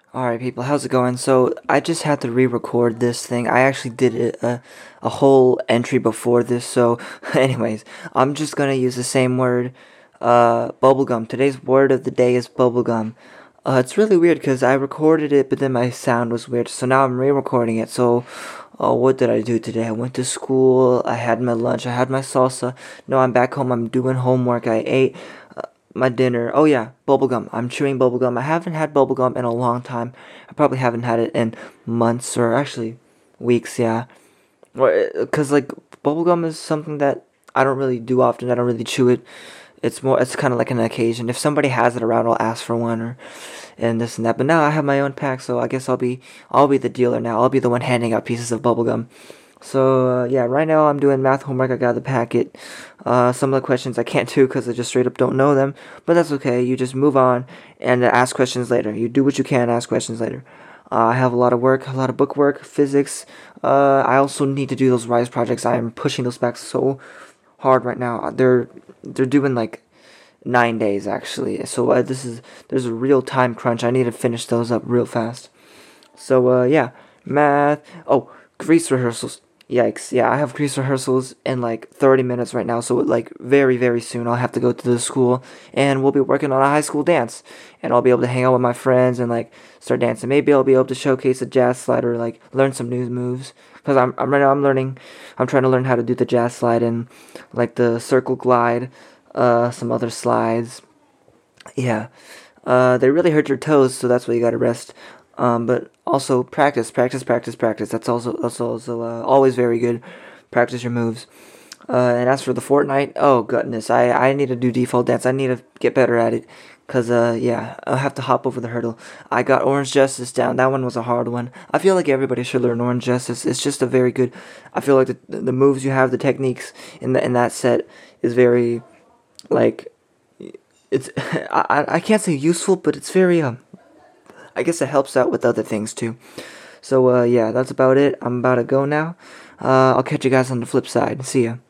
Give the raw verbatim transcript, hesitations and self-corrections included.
Alright, people, how's it going? So, I just had to re-record this thing. I actually did a, a, a whole entry before this, so, anyways, I'm just gonna use the same word, uh, bubblegum. Today's word of the day is bubblegum. Uh, it's really weird because I recorded it, but then my sound was weird, so now I'm re-recording it. So, uh, what did I do today? I went to school, I had my lunch, I had my salsa. No, I'm back home, I'm doing homework, I ate my dinner. Oh yeah, bubblegum. I'm chewing bubblegum. I haven't had bubblegum in a long time. I probably haven't had it in months or actually weeks, yeah. Because like bubblegum is something that I don't really do often. I don't really chew it. It's more it's kind of like an occasion. If somebody has it around, I'll ask for one or and this and that. But now I have my own pack, so I guess I'll be I'll be the dealer now. I'll be the one handing out pieces of bubblegum. So uh, yeah, right now I'm doing math homework. I got the packet. Uh, some of the questions I can't do because I just straight up don't know them, but that's okay. You just move on and uh, ask questions later. You do what you can, ask questions later. Uh, I have a lot of work, a lot of book work, physics. Uh, I also need to do those Rise projects. I am pushing those back so hard right now. They're they're doing like nine days actually. So uh, this is there's a real time crunch. I need to finish those up real fast. So uh, yeah, math. Oh, Grease rehearsals. Yikes. Yeah, I have Grease rehearsals in like thirty minutes right now. So like very very soon I'll have to go to the school and we'll be working on a high school dance. And I'll be able to hang out with my friends and like start dancing. Maybe I'll be able to showcase a jazz slide or like learn some new moves. Cause I'm I'm right now I'm learning. I'm trying to learn how to do the jazz slide and like the circle glide. Uh, some other slides. Yeah. Uh, they really hurt your toes, so that's why you gotta rest. Um, but also practice, practice, practice, practice. That's also that's also uh, always very good. Practice your moves. Uh, and as for the Fortnite, oh goodness, I I need to do default dance. I need to get better at it. Cause uh yeah, I'll have to hop over the hurdle. I got Orange Justice down. That one was a hard one. I feel like everybody should learn Orange Justice. It's just a very good. I feel like the the moves you have, the techniques in the in that set is very like it's I I can't say useful, but it's very um I guess it helps out with other things too. So uh yeah, that's about it. I'm about to go now. Uh I'll catch you guys on the flip side. See ya.